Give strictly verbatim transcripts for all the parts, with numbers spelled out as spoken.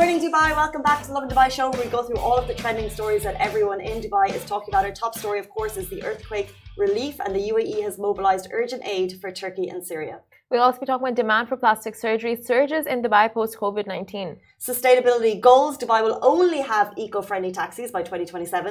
morning, Dubai. Welcome back to the Lovin Dubai show, where we go through all of the trending stories that everyone in Dubai is talking about. Our top story, of course, is the earthquake relief, and the U A E has mobilized urgent aid for Turkey and Syria. We'll also be talking about demand for plastic surgery surges in Dubai post COVID nineteen. Sustainability goals. Dubai will only have eco-friendly taxis by twenty twenty-seven.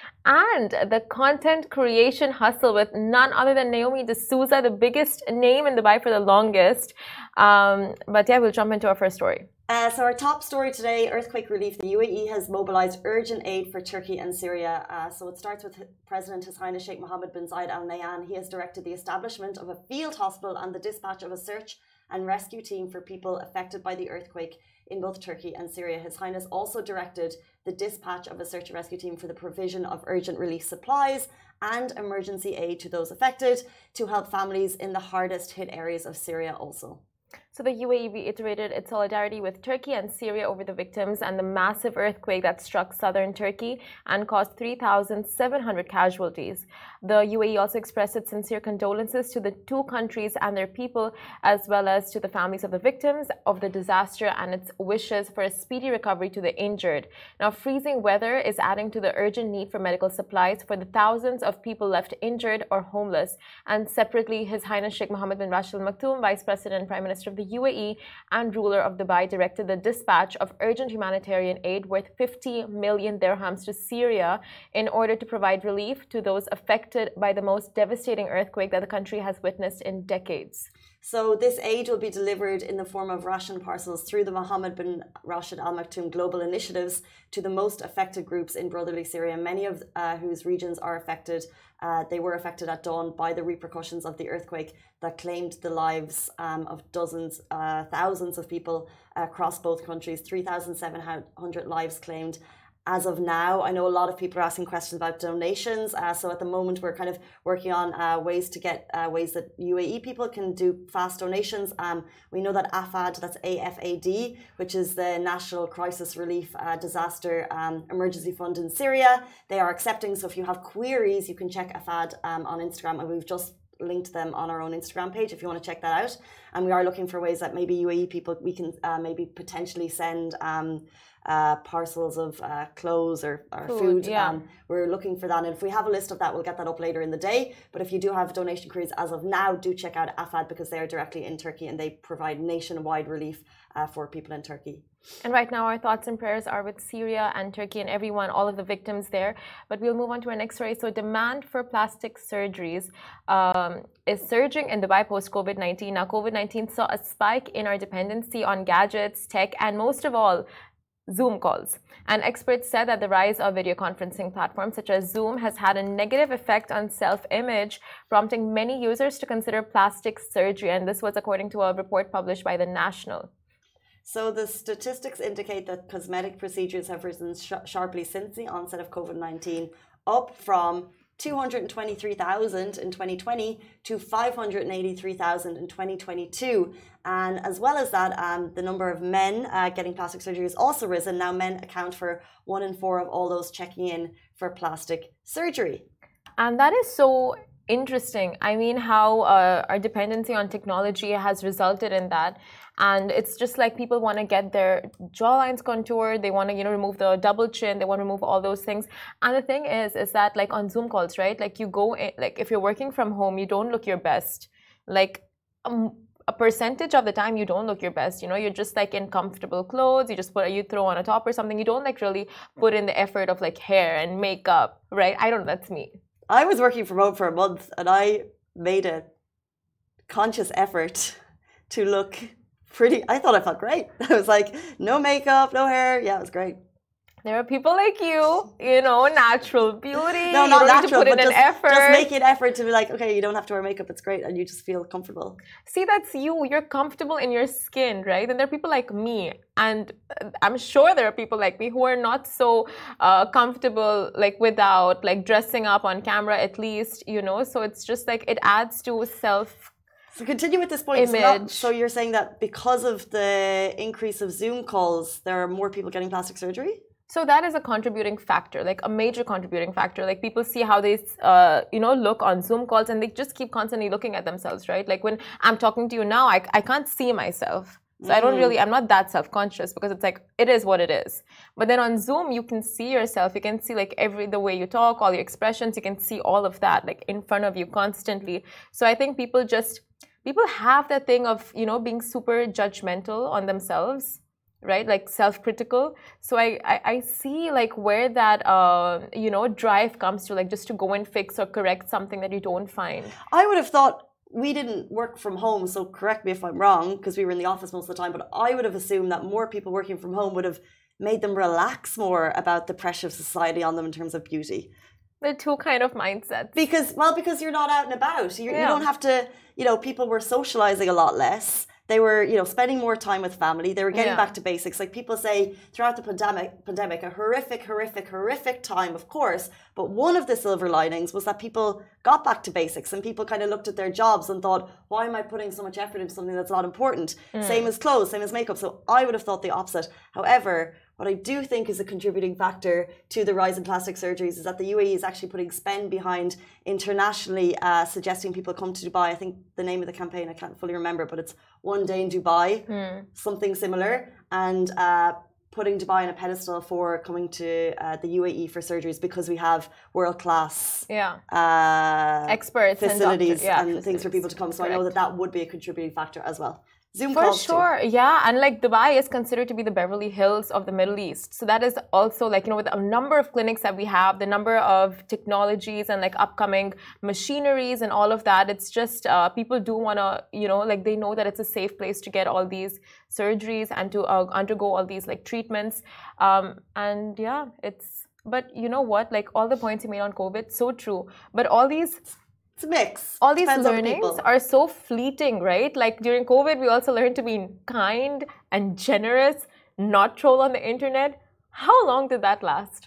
And the content creation hustle with none other than Naomi D'Souza, the biggest name in Dubai for the longest. Um, but yeah, we'll jump into our first story. Uh, so our top story today, earthquake relief. The U A E has mobilized urgent aid for Turkey and Syria. Uh, so it starts with President His Highness Sheikh Mohammed bin Zayed Al Nahyan. He has directed the establishment of a field hospital and the dispatch of a search and rescue team for people affected by the earthquake in both Turkey and Syria. His Highness also directed the dispatch of a search and rescue team for the provision of urgent relief supplies and emergency aid to those affected to help families in the hardest hit areas of Syria also. So the U A E reiterated its solidarity with Turkey and Syria over the victims and the massive earthquake that struck southern Turkey and caused three thousand seven hundred casualties. The U A E also expressed its sincere condolences to the two countries and their people, as well as to the families of the victims of the disaster, and its wishes for a speedy recovery to the injured. Now, freezing weather is adding to the urgent need for medical supplies for the thousands of people left injured or homeless. And separately, His Highness Sheikh Mohammed bin Rashid Al Maktoum, Vice President and Prime Minister of the U A E and ruler of Dubai, directed the dispatch of urgent humanitarian aid worth fifty million dirhams to Syria in order to provide relief to those affected by the most devastating earthquake that the country has witnessed in decades. So this aid will be delivered in the form of ration parcels through the Mohammed bin Rashid Al Maktoum global initiatives to the most affected groups in brotherly Syria, many of uh, whose regions are affected. Uh, they were affected at dawn by the repercussions of the earthquake that claimed the lives um, of dozens, uh, thousands of people across both countries, three thousand seven hundred lives claimed. As of now, I know a lot of people are asking questions about donations. Uh, so at the moment, we're kind of working on uh, ways to get uh, ways that U A E people can do fast donations. Um, we know that AFAD, that's A F A D, which is the National Crisis Relief uh, Disaster um, Emergency Fund in Syria, they are accepting. So if you have queries, you can check AFAD um, on Instagram, and we've just linked them on our own Instagram page if you want to check that out. And we are looking for ways that maybe U A E people, we can uh, maybe potentially send um, uh, parcels of uh, clothes or, or food. food yeah. um, we're looking for that. And if we have a list of that, we'll get that up later in the day. But if you do have donation queries as of now, do check out AFAD, because they are directly in Turkey and they provide nationwide relief uh, for people in Turkey. And right now, our thoughts and prayers are with Syria and Turkey and everyone, all of the victims there. But we'll move on to our next story. So demand for plastic surgeries um, is surging in Dubai post-COVID nineteen. Now, COVID nineteen saw a spike in our dependency on gadgets, tech, and most of all, Zoom calls. And experts said that the rise of video conferencing platforms such as Zoom has had a negative effect on self-image, prompting many users to consider plastic surgery. And this was according to a report published by The National. So the statistics indicate that cosmetic procedures have risen sh- sharply since the onset of COVID nineteen, up from two hundred twenty-three thousand in twenty twenty to five hundred eighty-three thousand in twenty twenty-two. And as well as that, um, the number of men uh, getting plastic surgery has also risen. Now men account for one in four of all those checking in for plastic surgery. And that is so interesting. I mean, how uh, our dependency on technology has resulted in that. And it's just like people want to get their jawlines contoured. They want to, you know, remove the double chin. They want to remove all those things. And the thing is, is that like on Zoom calls, right? Like you go in, like if you're working from home, you don't look your best. Like um, a percentage of the time, you don't look your best. You know, you're just like in comfortable clothes. You just put, you throw on a top or something. You don't like really put in the effort of like hair and makeup, right? I don't know. That's me. I was working from home for a month and I made a conscious effort to look pretty. I thought I felt great. I was like, no makeup, no hair. Yeah, it was great. There are people like you, you know, natural beauty. No, not you don't natural, need to put but in just, an effort. just make an effort to be like, okay, you don't have to wear makeup. It's great. And you just feel comfortable. See, that's you. You're comfortable in your skin, right? And there are people like me. And I'm sure there are people like me who are not so uh, comfortable, like without like dressing up on camera at least, you know. So it's just like it adds to self So continue with this point. So, not, so you're saying that because of the increase of Zoom calls, there are more people getting plastic surgery? So that is a contributing factor, like a major contributing factor. Like people see how they, uh, you know, look on Zoom calls, and they just keep constantly looking at themselves, right? Like when I'm talking to you now, I, I can't see myself. So mm. I don't really, I'm not that self-conscious because it's like, it is what it is. But then on Zoom, you can see yourself. You can see like every, the way you talk, all your expressions, you can see all of that like in front of you constantly. So I think people just, people have that thing of, you know, being super judgmental on themselves, right? Like self-critical. So I, I, I see like where that, uh, you know, drive comes to, like just to go and fix or correct something that you don't find. I would have thought, we didn't work from home, so correct me if I'm wrong, because we were in the office most of the time, but I would have assumed that more people working from home would have made them relax more about the pressure of society on them in terms of beauty. The two kind of mindsets. Because, well, because you're not out and about. You, yeah. you don't have to, you know, people were socializing a lot less. They were, you know, spending more time with family. They were getting yeah. back to basics. Like people say, throughout the pandemic, pandemic, a horrific, horrific, horrific time, of course. But one of the silver linings was that people got back to basics and people kind of looked at their jobs and thought, why am I putting so much effort into something that's not important? Mm. Same as clothes, same as makeup. So I would have thought the opposite. However, what I do think is a contributing factor to the rise in plastic surgeries is that the U A E is actually putting spend behind internationally uh, suggesting people come to Dubai. I think the name of the campaign, I can't fully remember, but it's One Day in Dubai, mm. something similar, and uh, putting Dubai on a pedestal for coming to uh, the U A E for surgeries because we have world-class yeah. uh, experts facilities and, doctor, yeah, and facilities. things for people to come. So Correct. I know that that would be a contributing factor as well. Zoom For calls sure, too. yeah, and like Dubai is considered to be the Beverly Hills of the Middle East. So that is also like, you know, with a number of clinics that we have, the number of technologies and like upcoming machineries and all of that, it's just uh, people do want to, you know, like they know that it's a safe place to get all these surgeries and to uh, undergo all these like treatments. Um, and yeah, it's, but you know what, like all the points you made on COVID, so true. But all these It's a mix. All these Depends learnings are so fleeting, right? Like during COVID, we also learned to be kind and generous, not troll on the internet. How long did that last?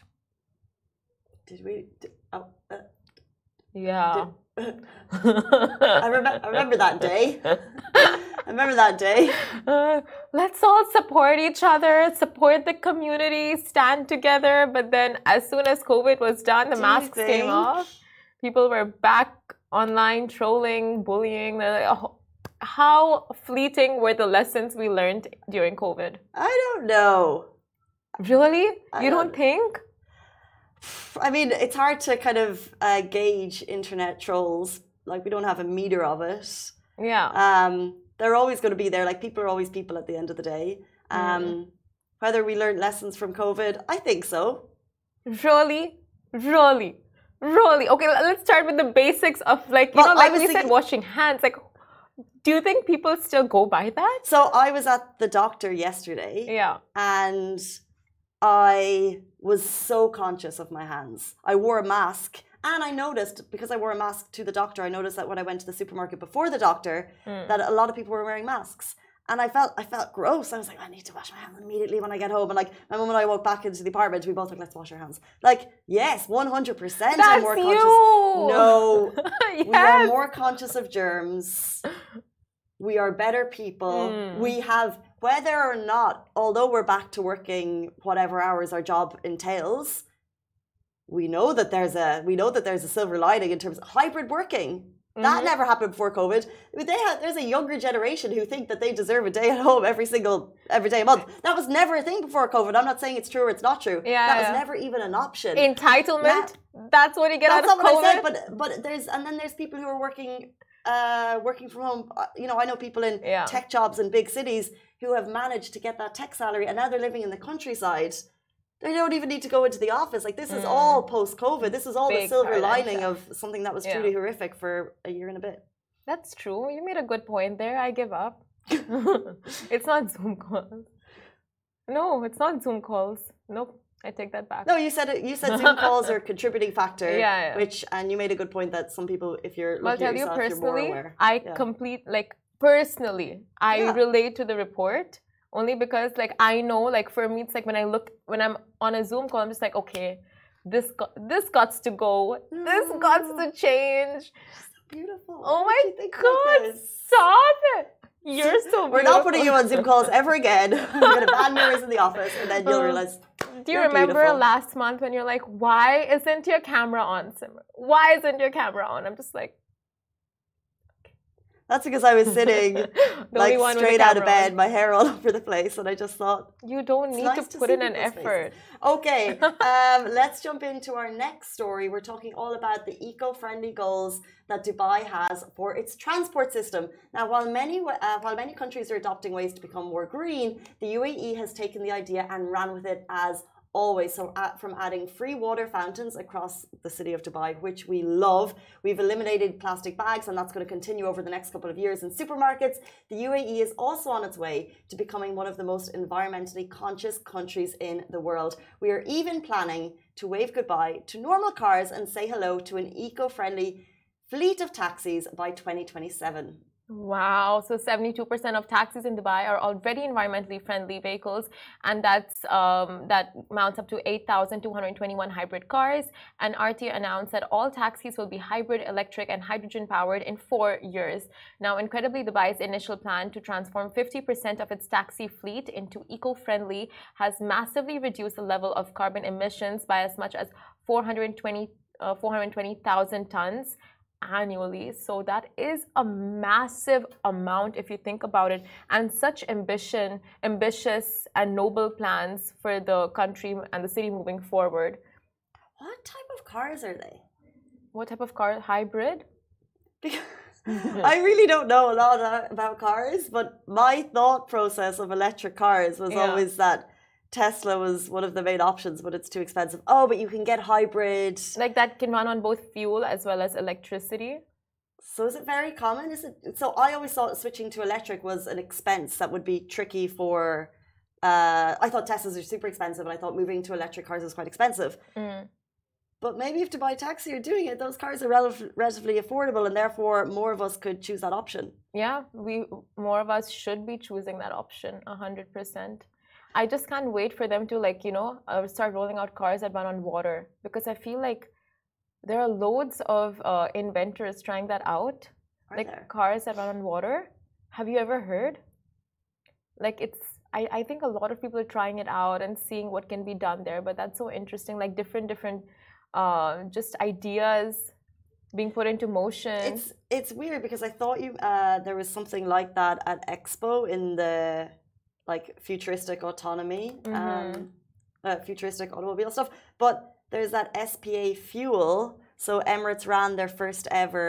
Did we? Did, oh, uh, yeah. Did, I, remember, I remember that day. I remember that day. Uh, let's all support each other, support the community, stand together. But then as soon as COVID was done, the Do masks came off. People were back online trolling, bullying. How fleeting were the lessons we learned during COVID? I don't know. Really? I you don't, don't think? I mean, it's hard to kind of uh, gauge internet trolls. Like, we don't have a meter of it. Yeah. Um, they're always going to be there. Like, people are always people at the end of the day. Um, mm. Whether we learned lessons from COVID, I think so. Really? Really? Really? Okay, let's start with the basics of like, you well, know, like we thinking, said, washing hands. Like, do you think people still go by that? So I was at the doctor yesterday. Yeah. And I was so conscious of my hands. I wore a mask. And I noticed, because I wore a mask to the doctor, I noticed that when I went to the supermarket before the doctor, mm. that a lot of people were wearing masks. And I felt I felt gross. I was like, I need to wash my hands immediately when I get home. And like my mum and I walked back into the apartment, we both like, let's wash our hands. Like, yes, one hundred percent That's I'm more you. conscious. No, yes. we are more conscious of germs. We are better people. Mm. We have, whether or not, although we're back to working whatever hours our job entails, we know that there's a we know that there's a silver lining in terms of hybrid working. That mm-hmm. never happened before COVID. They had, there's a younger generation who think that they deserve a day at home every single, every day a month. That was never a thing before COVID. I'm not saying it's true or it's not true. Yeah, that yeah. was never even an option. Entitlement. Yeah. That's what you get That's out of not COVID. What I said, but but there's and then there's people who are working, uh, working from home. You know, I know people in yeah. tech jobs in big cities who have managed to get that tech salary, and now they're living in the countryside. They don't even need to go into the office. Like, this is mm. all post-COVID. This is all Big the silver paradigm. lining of something that was Yeah. truly horrific for a year and a bit. That's true. You made a good point there. I give up. It's not Zoom calls. No, it's not Zoom calls. Nope. I take that back. No, you said it. You said Zoom calls are a contributing factor. Yeah, yeah. Which, and you made a good point that some people, if you're looking I'll tell at yourself, you personally, you're more aware. I yeah. complete, like, personally, I Yeah. relate to the report. Only because, like, I know, like, for me, it's like when I look, when I'm on a Zoom call, I'm just like, okay, this got, this gots to go. This gots to change. So beautiful. Oh my God. Like Stop it. You're so beautiful. We're not putting you on Zoom calls ever again. We're going to ban mirrors in the office, and then you'll realize. Do you remember beautiful. last month when you're like, why isn't your camera on, Simran? Why isn't your camera on? I'm just like, That's because I was sitting like straight out of bed, my hair all over the place, and I just thought you don't need nice to to put in an effort. Faces. Okay, um, let's jump into our next story. We're talking all about the eco-friendly goals that Dubai has for its transport system. Now, while many uh, while many countries are adopting ways to become more green, the U A E has taken the idea and ran with it as always. So uh, from adding free water fountains across the city of Dubai, which we love, we've eliminated plastic bags, and that's going to continue over the next couple of years in supermarkets. The U A E is also on its way to becoming one of the most environmentally conscious countries in the world. We are even planning to wave goodbye to normal cars and say hello to an eco-friendly fleet of taxis by twenty twenty-seven. Wow, so seventy-two percent of taxis in Dubai are already environmentally friendly vehicles, and that's um, that mounts up to eight thousand two hundred twenty-one hybrid cars. And R T A announced that all taxis will be hybrid, electric, and hydrogen powered in four years. Now, incredibly, Dubai's initial plan to transform fifty percent of its taxi fleet into eco-friendly has massively reduced the level of carbon emissions by as much as four hundred twenty thousand tons annually. So that is a massive amount if you think about it, and such ambition ambitious and noble plans for the country and the city moving forward. What type of cars are they? What type of car? Hybrid? I really don't know a lot about cars, but my thought process of electric cars was yeah. always that Tesla was one of the main options, but it's too expensive. Oh, but you can get hybrid. Like that can run on both fuel as well as electricity. So is it very common? Is it? So I always thought switching to electric was an expense that would be tricky for. Uh, I thought Teslas are super expensive, and I thought moving to electric cars was quite expensive. Mm. But maybe if Dubai Taxi are doing it, those cars are rel- relatively affordable, and therefore more of us could choose that option. Yeah, we more of us should be choosing that option, a hundred percent. I just can't wait for them to, like, you know, uh, start rolling out cars that run on water, because I feel like there are loads of uh, inventors trying that out. Are like there? Cars that run on water. Have you ever heard? Like it's, I, I think a lot of people are trying it out and seeing what can be done there, but that's so interesting. Like different, different, uh, just ideas being put into motion. It's it's weird because I thought you uh, there was something like that at Expo in the. Like futuristic autonomy, mm-hmm. um, uh, futuristic automobile stuff. But there's that S P A fuel. So Emirates ran their first ever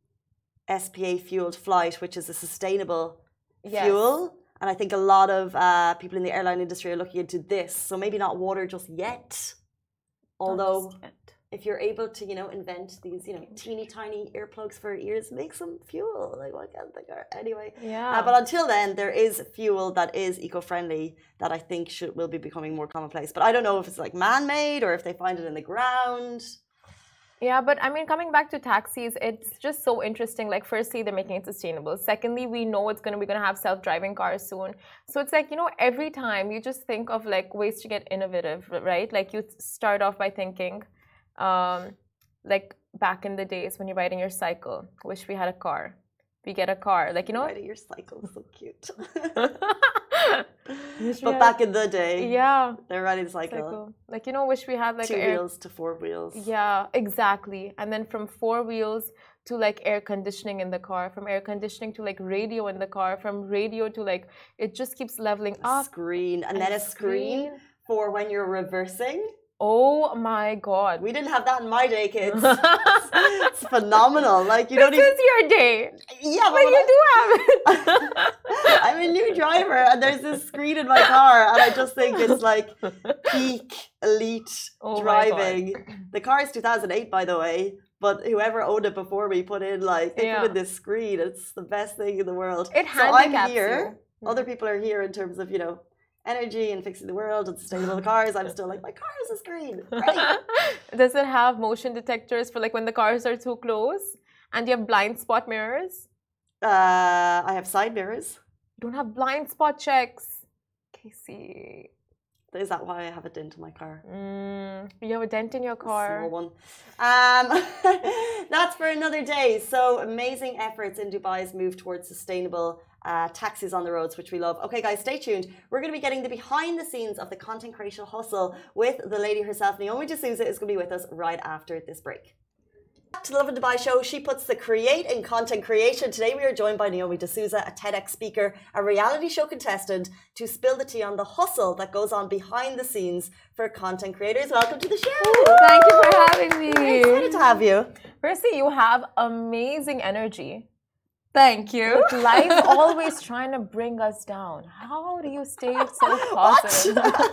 S P A fueled flight, which is a sustainable yes. fuel. And I think a lot of uh, people in the airline industry are looking into this. So maybe not water just yet. Although just yet. If you're able to, you know, invent these, you know, teeny tiny earplugs for ears, make some fuel. Like, why can't they go? Anyway. Yeah. Uh, but until then, there is fuel that is eco-friendly that I think should will be becoming more commonplace. But I don't know if it's like man-made or if they find it in the ground. Yeah, but I mean, coming back to taxis, it's just so interesting. Like, firstly, they're making it sustainable. Secondly, we know it's gonna we're gonna have self-driving cars soon. So it's like, you know, every time you just think of like ways to get innovative, right? Like you start off by thinking. Um, like back in the days when you're riding your cycle, wish we had a car. We get a car, like, you know, riding your cycle is so cute. But back in the day, yeah, they're riding the cycle. cycle. Like, you know, wish we had like two air... wheels to four wheels. Yeah, exactly. And then from four wheels to like air conditioning in the car, from air conditioning to like radio in the car, from radio to like it just keeps leveling up. Screen, and, and then a screen, screen for when you're reversing. Oh my God. We didn't have that in my day, kids. it's, it's phenomenal. Like, you don't this even... is your day. Yeah, but, but you I... do have it. I'm a new driver and there's this screen in my car and I just think it's like peak elite oh driving. The car is two thousand eight, by the way, but whoever owned it before me put in like, they yeah. put in this screen. It's the best thing in the world. It handicaps So I'm here. You. Other people are here in terms of, you know, energy and fixing the world and sustainable cars. I'm still like, my car is a screen. Right. Does it have motion detectors for like when the cars are too close? And you have blind spot mirrors? Uh, I have side mirrors. You don't have blind spot checks. Casey. Is that why I have a dent in my car? Mm, you have a dent in your car? A small one. Um, that's for another day. So amazing efforts in Dubai's move towards sustainable Uh, taxis on the roads, which we love. Okay, guys, stay tuned. We're going to be getting the behind the scenes of the content creation hustle with the lady herself. Naomi D'Souza is going to be with us right after this break. To the Love and Dubai show, she puts the create in content creation. Today we are joined by Naomi D'Souza, a TEDx speaker, a reality show contestant, to spill the tea on the hustle that goes on behind the scenes for content creators. Welcome to the show. Thank you for having me. We're excited to have you. Firstly, you have amazing energy. Thank you. With life always trying to bring us down. How do you stay so positive?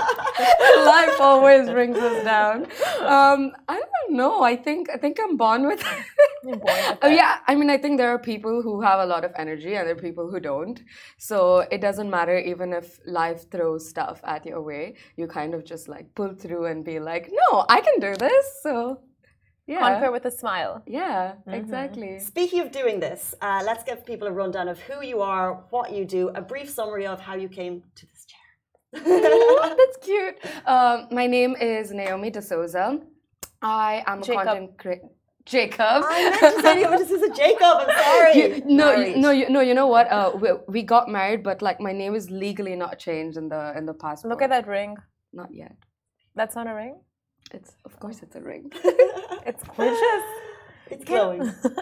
Life always brings us down. Um, I don't know. I think I think I'm born with it. You're born with Oh it. yeah. I mean, I think there are people who have a lot of energy and there are people who don't. So it doesn't matter even if life throws stuff at your way. You kind of just like pull through and be like, no, I can do this. So yeah. Conquer with a smile. Yeah, Mm-hmm. exactly. Speaking of doing this, uh, let's give people a rundown of who you are, what you do, a brief summary of how you came to this chair. Ooh, that's cute. Um, my name is Naomi D'Souza. I am a Jacob. content creator. Jacob. I meant to say Naomi D'Souza Jacob. I'm sorry. You, no, you, Married. no, you, no. You know what? Uh, we, we got married, but like my name is legally not changed in the in the passport. Look at that ring. Not yet. That's not a ring. It's of course it's a ring. It's gorgeous. It's glowing.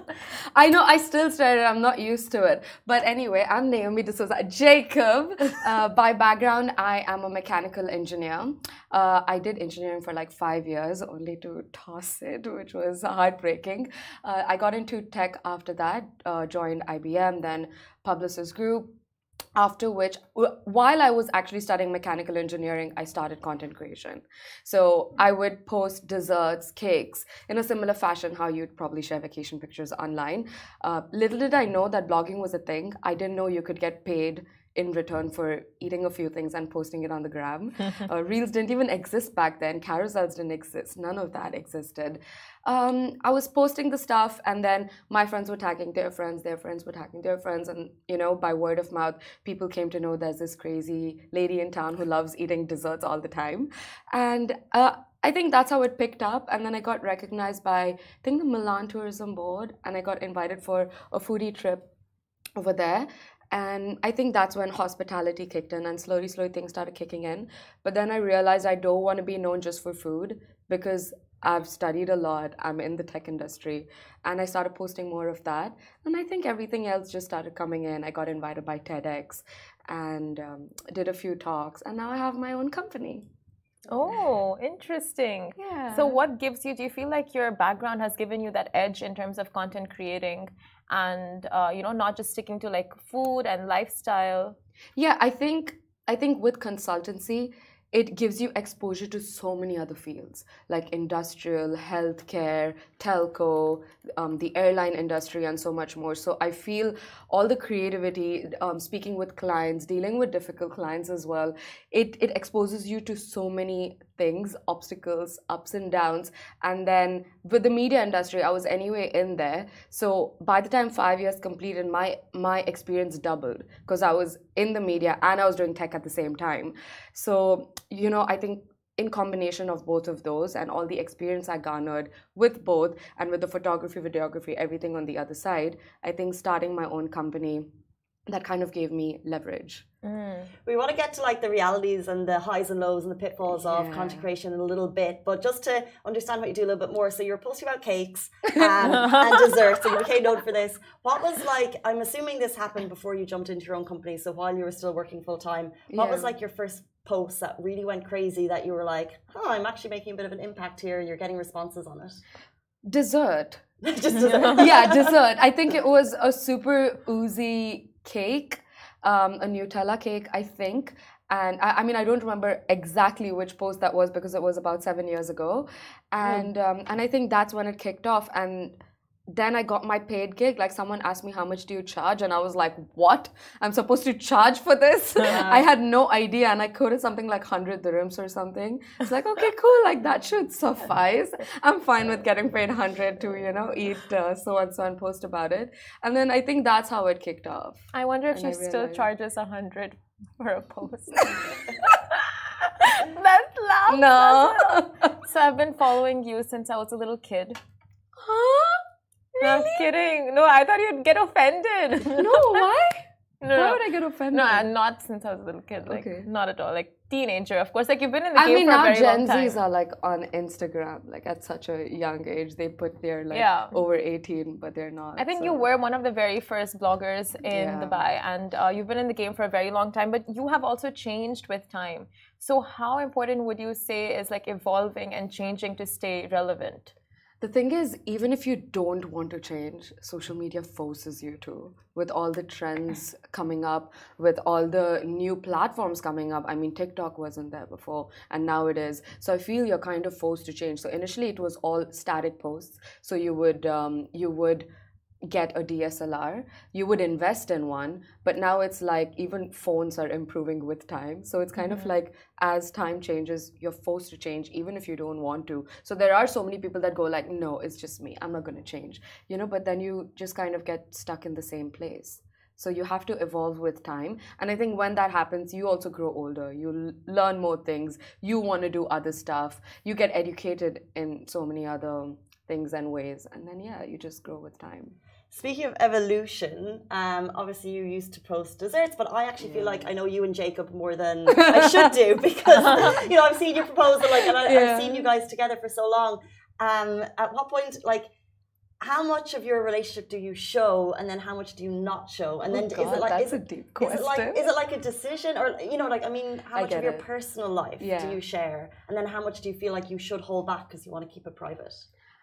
I know. I still started. I'm not used to it. But anyway, I'm Naomi D'Souza Jacob. Uh, by background, I am a mechanical engineer. Uh, I did engineering for like five years, only to toss it, which was heartbreaking. Uh, I got into tech after that. Uh, joined I B M, then Publicis Group. After which, w- while I was actually studying mechanical engineering, I started content creation. So I would post desserts, cakes, in a similar fashion how you'd probably share vacation pictures online. Uh, little did I know that blogging was a thing. I didn't know you could get paid in return for eating a few things and posting it on the gram. uh, Reels didn't even exist back then. Carousels didn't exist. None of that existed. Um, I was posting the stuff, and then my friends were tagging their friends, their friends were tagging their friends, and you know, by word of mouth, people came to know there's this crazy lady in town who loves eating desserts all the time. And uh, I think that's how it picked up. And then I got recognized by, I think, the Milan Tourism Board, and I got invited for a foodie trip over there. And I think that's when hospitality kicked in and slowly, slowly things started kicking in. But then I realized I don't want to be known just for food because I've studied a lot. I'm in the tech industry. And I started posting more of that. And I think everything else just started coming in. I got invited by TEDx and um, did a few talks. And now I have my own company. Oh, interesting. Yeah. So what gives you, do you feel like your background has given you that edge in terms of content creating and, uh, you know, not just sticking to like food and lifestyle? Yeah, I think I think with consultancy, it gives you exposure to so many other fields like industrial, healthcare, telco, um, the airline industry, and so much more. So I feel all the creativity, um, speaking with clients, dealing with difficult clients as well, it, it exposes you to so many things, obstacles, ups and downs. And then with the media industry, I was anyway in there. So by the time five years completed, my, my experience doubled because I was in the media and I was doing tech at the same time. So, you know, I think in combination of both of those and all the experience I garnered with both and with the photography, videography, everything on the other side, I think starting my own company, that kind of gave me leverage. Mm. We want to get to like the realities and the highs and lows and the pitfalls of Yeah. content creation in a little bit, but just to understand what you do a little bit more. So you're posting about cakes um, and desserts, and you became known for this. What was like? I'm assuming this happened before you jumped into your own company. So while you were still working full time, what was Yeah. like your first post that really went crazy that you were like, oh, I'm actually making a bit of an impact here. You're getting responses on it. Dessert. Just dessert. Yeah, dessert. I think it was a super oozy cake, um, a Nutella cake, I think. And I, I mean, I don't remember exactly which post that was because it was about seven years ago. And um, and I think that's when it kicked off. And then I got my paid gig. Like someone asked me, how much do you charge? And I was like, what? I'm supposed to charge for this? I had no idea. And I quoted something like one hundred dirhams or something. It's like, okay, cool. Like that should suffice. I'm fine with getting paid one hundred to, you know, eat uh, so and so and post about it. And then I think that's how it kicked off. I wonder if And she I still realized- charges a hundred for a post. That's loud. No. So I've been following you since I was a little kid. Huh? No, I'm kidding. No, I thought you'd get offended. No, why? No, Why no. would I get offended? No, uh, not since I was a little kid. Like, Okay. not at all. Like, teenager, of course. Like, you've been in the I game mean, for a now very Gen long time. Zs are like on Instagram, like at such a young age. They put they're like Yeah. over eighteen, but they're not. I think so. you were one of the very first bloggers in Yeah. Dubai, and uh, you've been in the game for a very long time, but you have also changed with time. So, how important would you say is like evolving and changing to stay relevant? The thing is, even if you don't want to change, social media forces you to. With all the trends coming up, with all the new platforms coming up. I mean, TikTok wasn't there before, and now it is. So I feel you're kind of forced to change. So initially, it was all static posts. So you would um, you would get a D S L R, you would invest in one, but now it's like even phones are improving with time. So it's kind mm-hmm. of like as time changes, you're forced to change even if you don't want to. So there are so many people that go like, no, it's just me, I'm not going to change, you know, but then you just kind of get stuck in the same place. So you have to evolve with time. And I think when that happens, you also grow older. You l- learn more things. You want to do other stuff. You get educated in so many other things and ways. And then, yeah, you just grow with time. Speaking of evolution, um, obviously you used to post desserts, but I actually yeah. feel like I know you and Jacob more than I should do because, you know, I've seen your proposal, like, and I, yeah. I've seen you guys together for so long. Um, at what point, like, how much of your relationship do you show, and then how much do you not show? And then oh God, is it like that's is, a deep question. Is it like is it like a decision, or you know, like I mean, how I much of your it. personal life yeah. do you share, and then how much do you feel like you should hold back because you want to keep it private?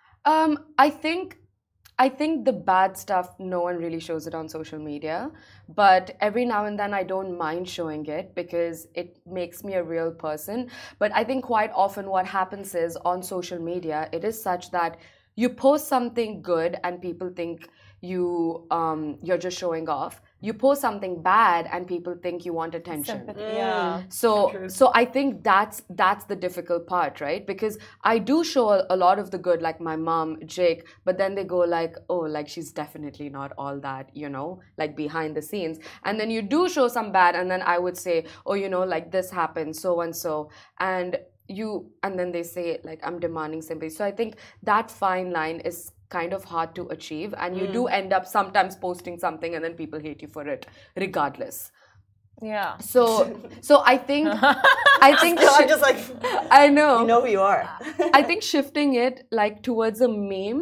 Um, I think. I think the bad stuff, no one really shows it on social media, but every now and then I don't mind showing it because it makes me a real person. But I think quite often what happens is on social media, it is such that you post something good and people think you um, you're just showing off. You post something bad and people think you want attention. Sympathy. Yeah. So True. so I think that's that's the difficult part, right? Because I do show a, a lot of the good, like my mom, Jake, but then they go like, oh, like she's definitely not all that, you know, like behind the scenes. And then you do show some bad, and then I would say, oh, you know, like this happened, so and so. And you and then they say like I'm demanding sympathy. So I think that fine line is kind of hard to achieve, and you mm. do end up sometimes posting something and then people hate you for it regardless. Yeah. So so I think I think I'm just like I know you know who you are. I think shifting it like towards a meme,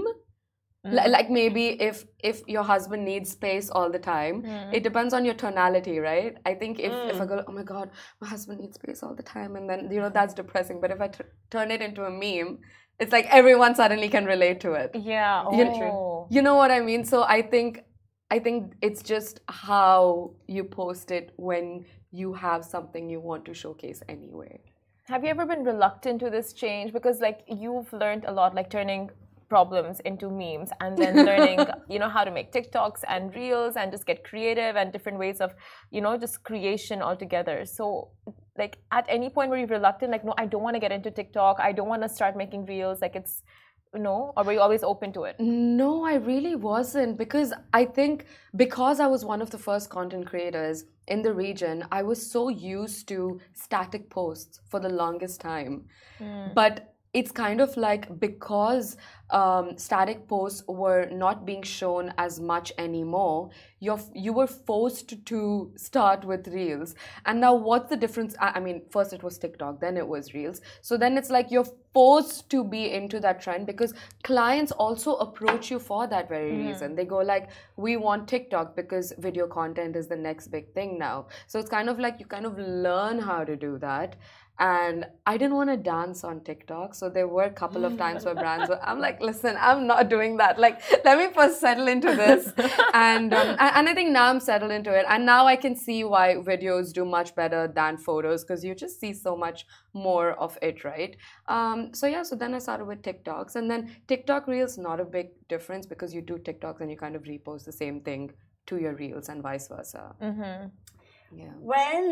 mm. like maybe if if your husband needs space all the time, mm. it depends on your tonality, right? I think if, mm. if I go, oh my God, my husband needs space all the time, and then you know that's depressing. But if I t- turn it into a meme, it's like everyone suddenly can relate to it. Yeah. Oh. You know, you know what I mean? So I think I think it's just how you post it when you have something you want to showcase anyway. Have you ever been reluctant to this change? Because like you've learned a lot, like turning problems into memes and then learning, you know, how to make TikToks and reels and just get creative and different ways of, you know, just creation altogether. So like at any point were you reluctant, like, no, I don't want to get into TikTok, I don't want to start making reels, like it's, no? Or were you always open to it? No, I really wasn't, because I think because I was one of the first content creators in the region, I was so used to static posts for the longest time. Mm. But it's kind of like because um, static posts were not being shown as much anymore, you're, you were forced to start with Reels. And now what's the difference? I, I mean, first it was TikTok, then it was Reels. So then it's like you're forced to be into that trend because clients also approach you for that very mm. reason. They go like, we want TikTok because video content is the next big thing now. So it's kind of like you kind of learn how to do that. And I didn't want to dance on TikTok. So there were a couple of times where brands were, I'm like, listen, I'm not doing that. Like, let me first settle into this. And, um, and I think now I'm settled into it. And now I can see why videos do much better than photos because you just see so much more of it, right? Um, so yeah, so then I started with TikToks. And then TikTok Reels, not a big difference because you do TikToks and you kind of repost the same thing to your Reels and vice versa. Mm-hmm. Yeah. When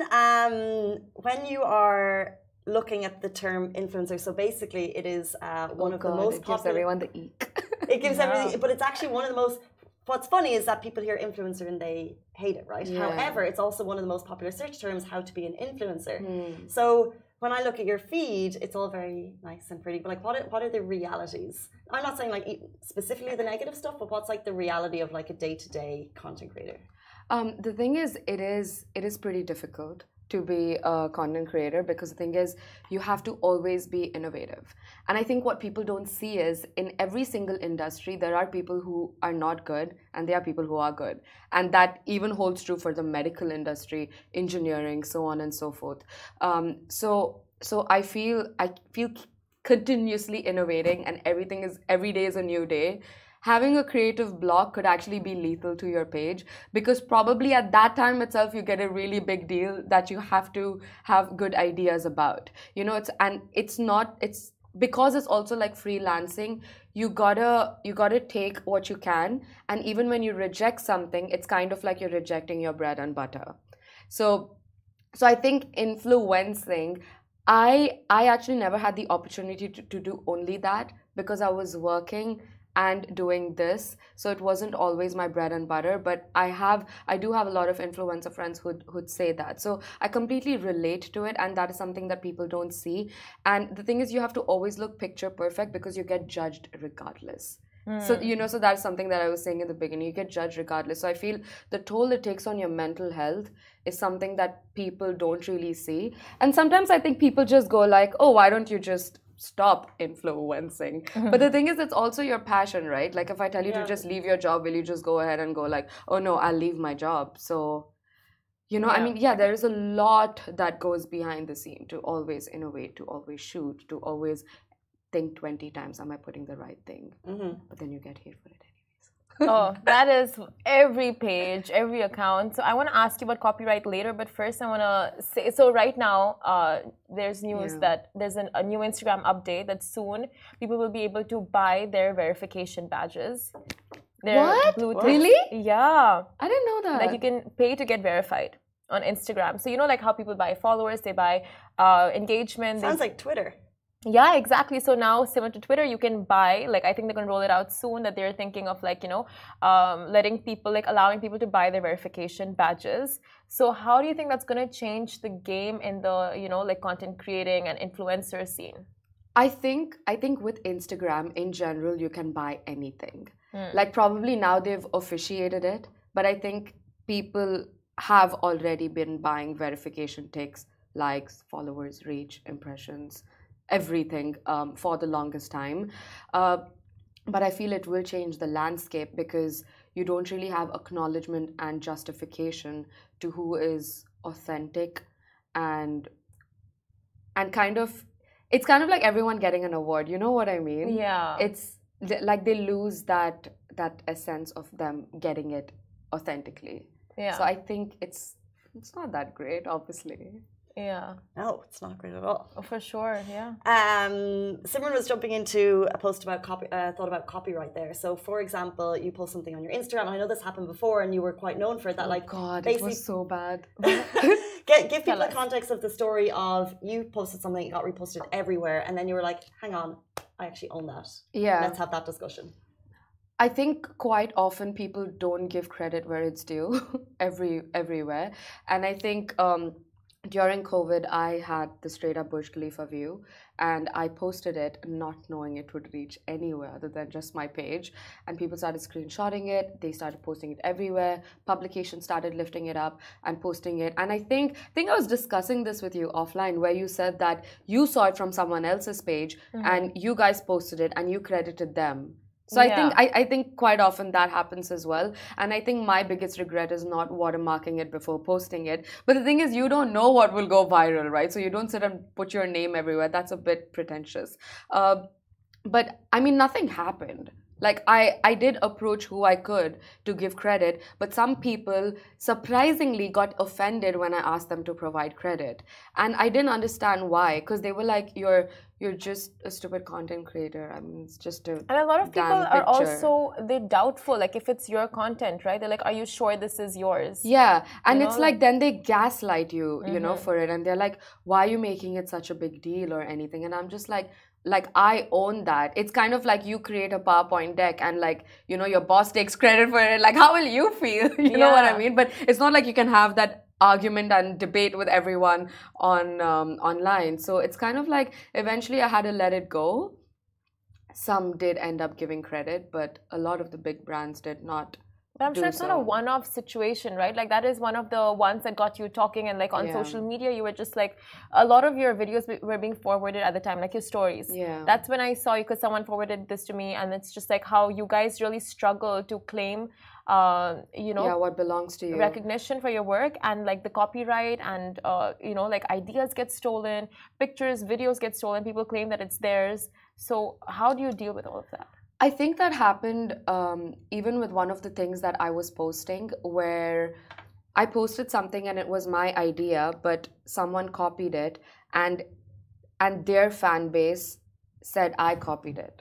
um when you are looking at the term influencer, so basically it is uh, one oh of God, the most it popular. Gives everyone the eek. It gives yeah. everything, but it's actually one of the most. What's funny is that people hear influencer and they hate it, right? Yeah. However, it's also one of the most popular search terms, how to be an influencer. Hmm. So when I look at your feed, it's all very nice and pretty, but like what are, what are the realities? I'm not saying like specifically the negative stuff, but what's like the reality of like a day-to-day content creator? Um, the thing is, it is it is pretty difficult to be a content creator because the thing is, you have to always be innovative. And I think what people don't see is in every single industry, there are people who are not good and there are people who are good. And that even holds true for the medical industry, engineering, so on and so forth. Um, so so I feel I feel continuously innovating and everything is every day is a new day. Having a creative block could actually be lethal to your page because probably at that time itself you get a really big deal that you have to have good ideas about. You know, it's and it's not it's because it's also like freelancing, you gotta you gotta take what you can, and even when you reject something, it's kind of like you're rejecting your bread and butter. So so I think influencing, I I actually never had the opportunity to, to do only that because I was working and doing this, so it wasn't always my bread and butter. But I have I do have a lot of influencer friends who'd, who'd say that, so I completely relate to it, and that is something that people don't see. And the thing is, you have to always look picture perfect because you get judged regardless. So you know, so that's something that I was saying in the beginning. You get judged regardless. So I feel the toll it takes on your mental health is something that people don't really see. And sometimes I think people just go like, "Oh, why don't you just stop influencing?" Mm-hmm. But the thing is, it's also your passion, right? Like if I tell you yeah. to just leave your job, will you just go ahead and go like, "Oh no, I'll leave my job"? So, you know, yeah. I mean, yeah, there is a lot that goes behind the scene to always innovate, to always shoot, to always think twenty times, am I putting the right thing? Mm-hmm. But then you get hate for it anyways. Oh, that is every page, every account. So I want to ask you about copyright later, but first I want to say, so right now uh, there's news yeah. that there's an, a new Instagram update that soon people will be able to buy their verification badges. Their what? Blue Really? Yeah. I didn't know that. Like you can pay to get verified on Instagram. So you know like how people buy followers, they buy uh, engagement. Sounds they... like Twitter. Yeah, exactly. So now, similar to Twitter, you can buy, like, I think they're going to roll it out soon, that they're thinking of, like, you know, um, letting people, like, allowing people to buy their verification badges. So how do you think that's going to change the game in the, you know, like, content creating and influencer scene? I think, I think with Instagram, in general, you can buy anything. Mm. Like, probably now they've officiated it, but I think people have already been buying verification ticks, likes, followers, reach, impressions, everything um, for the longest time. Uh, but I feel it will change the landscape because you don't really have acknowledgement and justification to who is authentic and and kind of, it's kind of like everyone getting an award, you know what I mean? Yeah. It's like they lose that that essence of them getting it authentically. Yeah. So I think it's it's not that great, obviously. Yeah. No, it's not great at all. Oh, for sure, yeah. Um, Simran was jumping into a post about copy, uh, thought about copyright there. So, for example, you post something on your Instagram. I know this happened before, and you were quite known for it. That, oh like, God, it was so bad. Get, give people the context of the story of you posted something, it got reposted everywhere, and then you were like, "Hang on, I actually own that. Yeah, let's have that discussion." I think quite often people don't give credit where it's due, every everywhere, and I think. Um, During COVID, I had the straight up Burj Khalifa view and I posted it not knowing it would reach anywhere other than just my page. And people started screenshotting it. They started posting it everywhere. Publications started lifting it up and posting it. And I think, I think I was discussing this with you offline where you said that you saw it from someone else's page mm-hmm. and you guys posted it and you credited them. So yeah. I think I, I think quite often that happens as well. And I think my biggest regret is not watermarking it before posting it. But the thing is, you don't know what will go viral, right? So you don't sit and put your name everywhere. That's a bit pretentious. Uh, but I mean, nothing happened. Like I, I did approach who I could to give credit, but some people surprisingly got offended when I asked them to provide credit. And I didn't understand why, because they were like, you're you're just a stupid content creator. I mean, it's just a And a lot of people picture. are also, they're doubtful, like if it's your content, right? They're like, are you sure this is yours? Yeah, and you it's know? like then they gaslight you, you mm-hmm. know, for it. And they're like, why are you making it such a big deal or anything? And I'm just like, like I own that. It's kind of like you create a PowerPoint deck and like, you know, your boss takes credit for it. Like, how will you feel? you yeah. know what I mean? But it's not like you can have that argument and debate with everyone on um, online. So it's kind of like eventually I had to let it go. Some did end up giving credit, but a lot of the big brands did not But I'm do sure it's so. not a one-off situation, right? Like that is one of the ones that got you talking, and like on Yeah. social media, you were just like, a lot of your videos be- were being forwarded at the time, like your stories. Yeah. That's when I saw you because someone forwarded this to me, and it's just like how you guys really struggle to claim, uh, you know, Yeah, what belongs to you. recognition for your work, and like the copyright, and uh, you know, like ideas get stolen, pictures, videos get stolen, people claim that it's theirs. So how do you deal with all of that? I think that happened um, even with one of the things that I was posting, where I posted something and it was my idea, but someone copied it, and and their fan base said I copied it.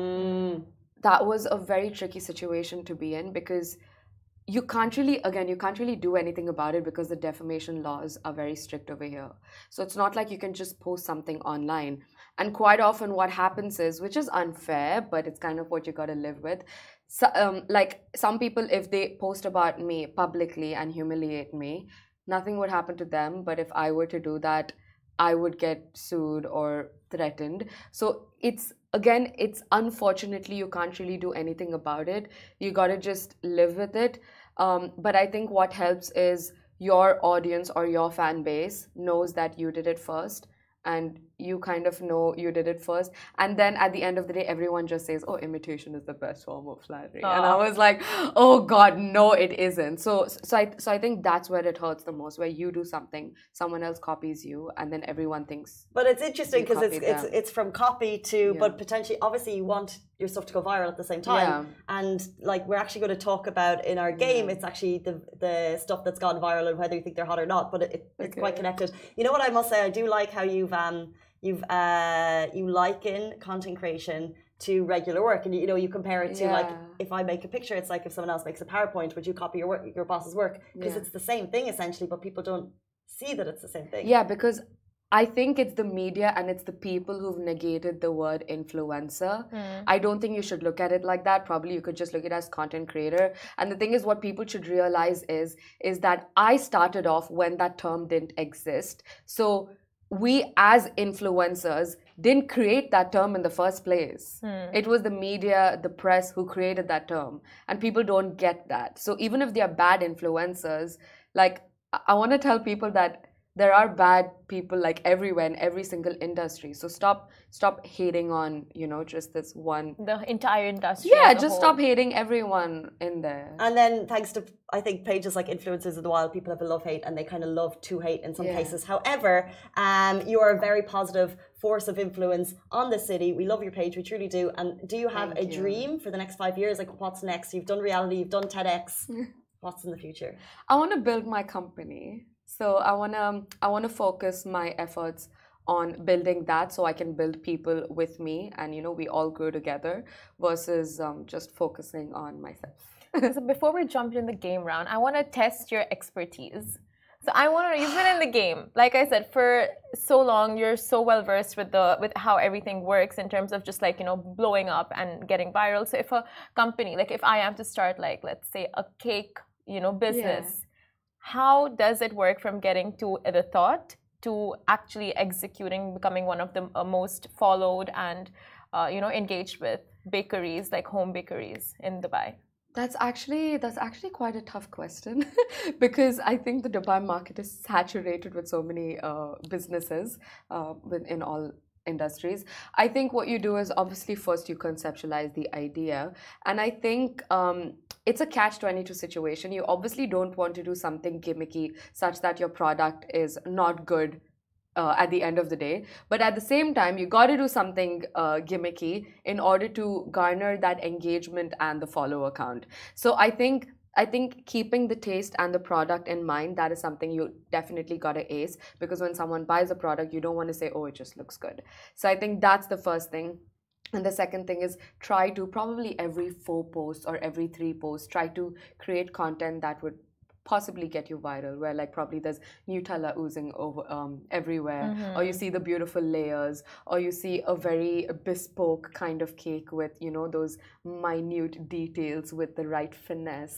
Mm. That was a very tricky situation to be in, because you can't really, again, you can't really do anything about it because the defamation laws are very strict over here. So it's not like you can just post something online. And quite often what happens is, which is unfair, but it's kind of what you got to live with. So, um, like some people, if they post about me publicly and humiliate me, nothing would happen to them. But if I were to do that, I would get sued or threatened. So it's, again, it's unfortunately, you can't really do anything about it. You got to just live with it. Um, but I think what helps is your audience or your fan base knows that you did it first, and you kind of know you did it first, and then at the end of the day everyone just says, oh, imitation is the best form of flattery. Aww. And I was like, oh god, no, it isn't. So so I so I think that's where it hurts the most, where you do something, someone else copies you, and then everyone thinks. But it's interesting You because it's copied it's them. it's from copy to, Yeah. but potentially, obviously, you want your stuff to go viral at the same time. Yeah. And like we're actually going to talk about in our game, Yeah. it's actually the the stuff that's gone viral and whether you think they're hot or not. But it, it, it's Okay. quite connected. You know what I must say? I do like how you've um you've uh you liken content creation to regular work, and you know you compare it to like Yeah. if I make a picture, it's like if someone else makes a PowerPoint, would you copy your work, your boss's work? Because Yeah. it's the same thing essentially, but people don't see that it's the same thing. Yeah, because I think it's the media and it's the people who've negated the word influencer. Mm. I don't think you should look at it like that. Probably you could just look at it as content creator. And the thing is, what people should realize is is that I started off when that term didn't exist. So we as influencers didn't create that term in the first place. Mm. It was the media, the press who created that term. And people don't get that. So even if they are bad influencers, like I, I want to tell people that there are bad people like everywhere in every single industry. So stop stop hating on, you know, just this one. The entire industry. Yeah, as a just whole. stop hating everyone in there. And then thanks to, I think, pages like Influencers of the Wild, people have a love-hate and they kind of love to hate in some Yeah. cases. However, um, you are a very positive force of influence on the city. We love your page, we truly do. And do you have Thank a you. dream for the next five years? Like what's next? You've done reality, you've done TEDx. What's in the future? I want to build my company. So I want to I want to focus my efforts on building that, so I can build people with me, and you know we all grow together, versus um, just focusing on myself. So before we jump in the game round, I want to test your expertise. So I want to. You've been in the game, like I said, for so long. You're so well versed with the with how everything works in terms of just like you know blowing up and getting viral. So if a company, like if I am to start, like let's say a cake, you know, business, Yeah. how does it work from getting to the thought to actually executing, becoming one of the uh, most followed and uh, you know engaged with bakeries, like home bakeries in Dubai? That's actually that's actually quite a tough question because I think the Dubai market is saturated with so many uh, businesses uh, within all industries. I think what you do is obviously first you conceptualize the idea, and I think um, it's a catch twenty-two situation. You obviously don't want to do something gimmicky such that your product is not good uh, at the end of the day, but at the same time you got to do something uh, gimmicky in order to garner that engagement and the follower count. So I think I think keeping the taste and the product in mind, that is something you definitely got to ace, because when someone buys a product, you don't want to say, oh, it just looks good. So I think that's the first thing. And the second thing is try to, probably every four posts or every three posts, try to create content that would possibly get you viral, where like probably there's Nutella oozing over um, everywhere, Mm-hmm. or you see the beautiful layers, or you see a very bespoke kind of cake with, you know, those minute details with the right finesse.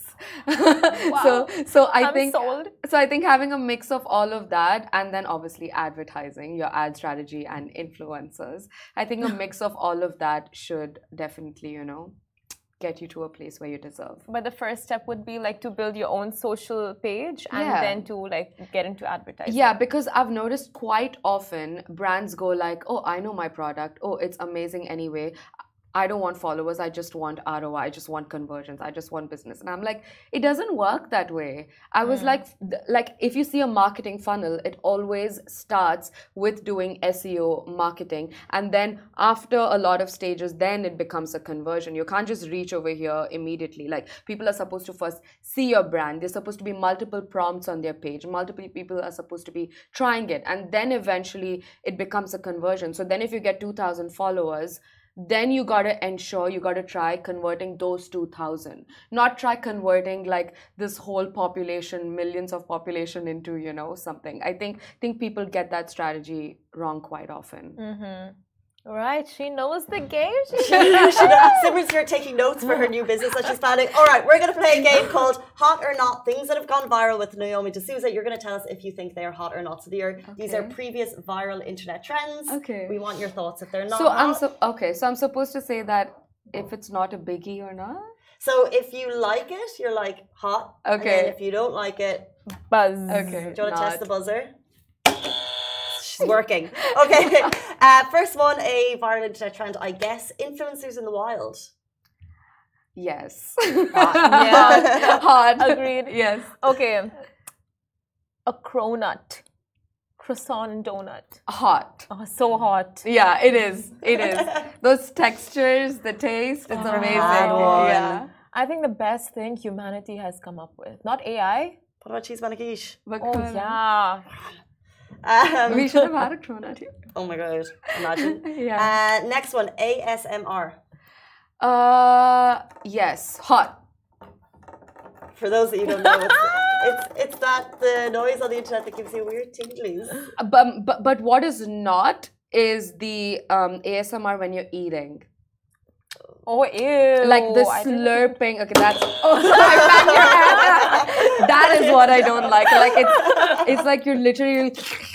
So so I I'm think sold. so I think having a mix of all of that, and then obviously advertising, your ad strategy and influencers, I think a mix of all of that should definitely, you know, get you to a place where you deserve. But the first step would be like to build your own social page and Yeah. then to like get into advertising. Yeah, because I've noticed quite often brands go like, oh, I know my product. Oh, it's amazing anyway. I don't want followers. I just want R O I. I just want conversions. I just want business. And I'm like, it doesn't work that way. I was mm. like, like if you see a marketing funnel, it always starts with doing S E O marketing. And then after a lot of stages, then it becomes a conversion. You can't just reach over here immediately. Like people are supposed to first see your brand. There's supposed to be multiple prompts on their page. Multiple people are supposed to be trying it. And then eventually it becomes a conversion. So then if you get two thousand followers, then you got to ensure you got to try converting those two thousand, not try converting like this whole population, millions of population into, you know, something. I think think people get that strategy wrong quite often. Mm-hmm. Right, she knows the game. She Simran's here taking notes for her new business that she's planning. All right, we're going to play a game called Hot or Not, Things That Have Gone Viral with Naomi D'Souza. You're going to tell us if you think they are hot or not. So they are, okay. These are previous viral internet trends. Okay. We want your thoughts if they're not so hot. I'm so okay. So I'm supposed to say that if it's not a biggie or not. So if you like it, you're like hot. Okay. And if you don't like it, buzz. Okay. Do you want to not. test the buzzer? She's working. Okay. Uh, first one, a viral internet trend, I guess. Influencers in the wild. Yes. Hot. Yeah. Hot. Agreed. Yes. Okay. A cronut. Croissant and donut. Hot. Oh, so hot. Yeah, it is. It is. Those textures, the taste, it's Oh, amazing. Yeah. I think the best thing humanity has come up with. Not A I. What about cheese maniquiche? Oh, yeah. Um, we should have had a cronut here. Oh my god, imagine. Yeah. Uh, next one, A S M R. Uh, yes, hot. For those that you don't know, it's, it's it's that the noise on the internet that gives you weird tinglies. But but but what is not is the um, A S M R when you're eating. Oh, ew. Like the slurping. Okay, that's. Oh, sorry, back your hand. That is what I don't like. Like it's it's like you're literally.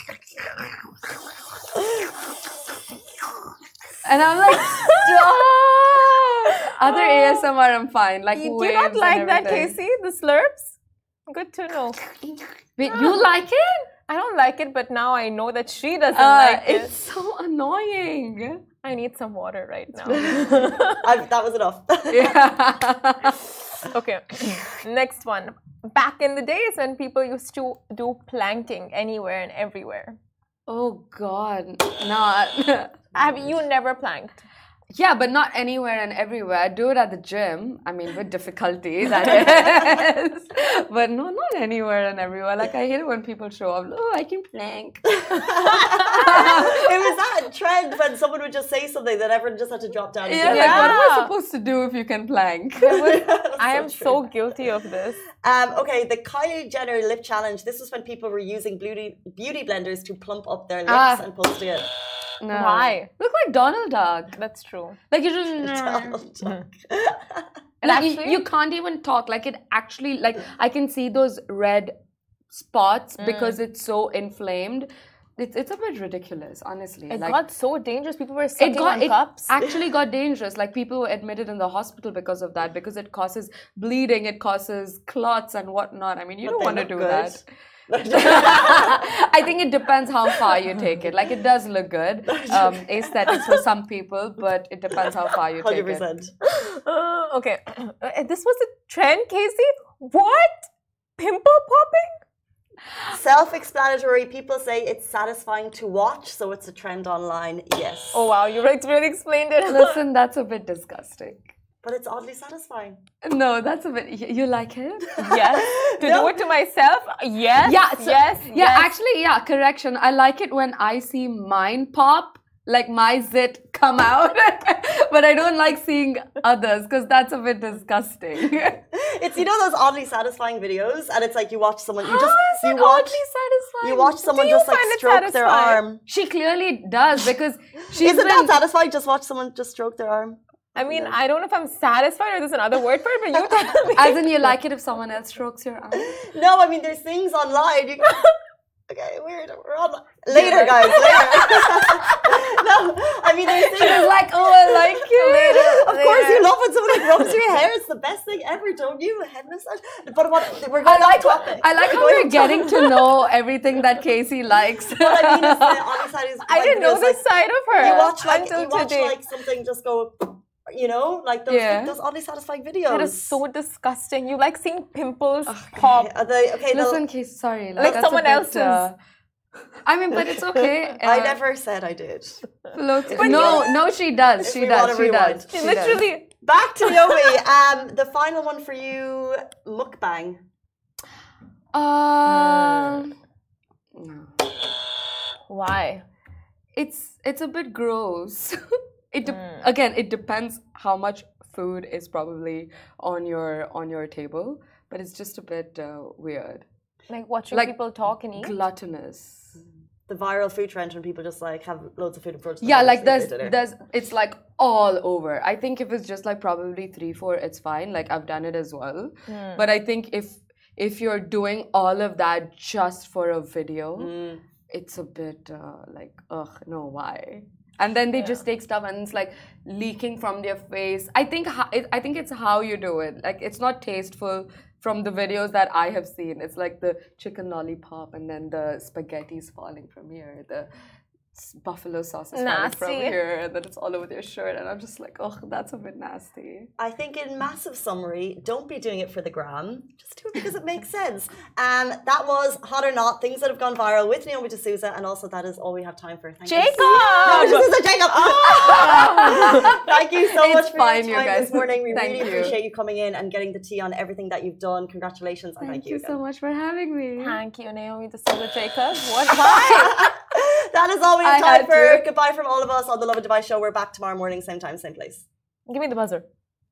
And I'm like, stop! Other A S M R, I'm fine. Like, you do waves not like and that, everything. Casey? The slurps? Good to know. Wait, you like it? I don't like it, but now I know that she doesn't Uh, like it. it's so annoying. I need some water right now. I, that was enough. Yeah. Okay, next one. Back in the days when people used to do planking anywhere and everywhere. Oh God, not. Have you never planked? Yeah, but not anywhere and everywhere. I do it at the gym. I mean, with difficulty, that is. But no, not anywhere and everywhere. Like, I hate it when people show up. Oh, I can plank. It was that trend when someone would just say something that everyone just had to drop down. And Yeah, do like, it. what am I supposed to do if you can plank? I am so guilty of this. Um, okay, the Kylie Jenner lip challenge. This was when people were using beauty beauty blenders to plump up their lips Ah. and posting it. No. Why? Look like Donald Duck. That's true. Like, you just. Donald Duck. Like, you, actually- you can't even talk. Like, it actually, like, I can see those red spots because it's so inflamed. It's, it's a bit ridiculous, honestly. It like, got so dangerous. People were sucking it got on it cups. actually got dangerous. Like, people were admitted in the hospital because of that, because it causes bleeding, it causes clots and whatnot. I mean, you But don't they want to look do good. that. I think it depends how far you take it. Like, it does look good, um, aesthetics for some people, but it depends how far you one hundred take it. percent. Uh, okay, Uh, this was a trend, Casey. What? Pimple popping? Self-explanatory. People say it's satisfying to watch, so it's a trend online. Yes. Oh wow, you really really explained it. Listen, that's a bit disgusting. But it's oddly satisfying. No, that's a bit. y- You like it? Yes. To No. do it to myself? Yes. Yeah. so- yes. Yeah. yes. Actually, yeah. Correction. I like it when I see mine pop, like my zit come out, but I don't like seeing others because that's a bit disgusting. It's, you know, those oddly satisfying videos, and it's like you watch someone, you How just is you it watch oddly satisfying? you watch someone you just like find it stroke their satisfying? arm. She clearly does because she's Isn't been. that satisfying? Just watch someone just stroke their arm. I mean, I don't know if I'm satisfied or there's another word for it, but you tell me. As in, you like it if someone else strokes your arm. No, I mean, there's things online. You can... Okay, weird. We're on later, guys. Later. No, I mean, there's things. She's like, oh, I like it. Later. Of course, you love when somebody rose your hair. It's the best thing ever, don't you? A head massage. But what we're going I like off topic. I like we're how we're going getting to know everything that Casey likes. What I mean is that Ollie side is. I didn't know this like, side of her You watch like until you watch today. like something just go, you know, like those Yeah. like, those oddly satisfying videos. That is so disgusting. You like seeing pimples Okay, pop. are they, okay, no, Listen, Casey, sorry. Like that's a someone bit, else's. uh, I mean, but it's okay. I Uh, never said I did. Look, But no, you- no, she does. If She we does. wanna She rewind. does. She She literally. Back to Naomi. Um, the final one for you, mukbang. Does. Um, no. Why? It's it's a bit gross. It de- again, it depends how much food is probably on your on your table, but it's just a bit uh, weird. Like watching Like people talk and eat. Gluttonous. The viral food trend when people just like have loads of food in front of them. Yeah, and like sleep there's at dinner. there's it's like all over. I think if it's just like probably three, four, it's fine. Like I've done it as well. But I think if if you're doing all of that just for a video, it's a bit uh, like ugh, no, why? And then they just take stuff and it's like leaking from their face. I think ho- it, I think it's how you do it. Like it's not tasteful. From the videos that I have seen, it's like the chicken lollipop and then the spaghetti's falling from here, the s- buffalo sauce is falling from Nasty. here, and then it's all over their shirt, and I'm just like, oh, that's a bit nasty. I think in massive summary, don't be doing it for the gram. Just do it because it makes sense. Um, that was Hot or Not, things that have gone viral with Naomi D'Souza, and also that is all we have time for. Thank Jacob! You. No, this is a Jacob. Thank you so It's much for fine, your you time guys. this morning. We Thank really you. appreciate you coming in and getting the tea on everything that you've done. Congratulations and Thank thank, you so much for having me. Thank you, Naomi D'Souza Jacob. What vibe? That is all we have I time had for. to. Goodbye from all of us on the Lovin Dubai show. We're back tomorrow morning, same time, same place. Give me the buzzer.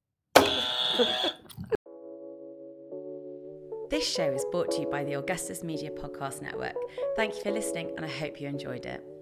This show is brought to you by the Augustus Media Podcast Network. Thank you for listening, and I hope you enjoyed it.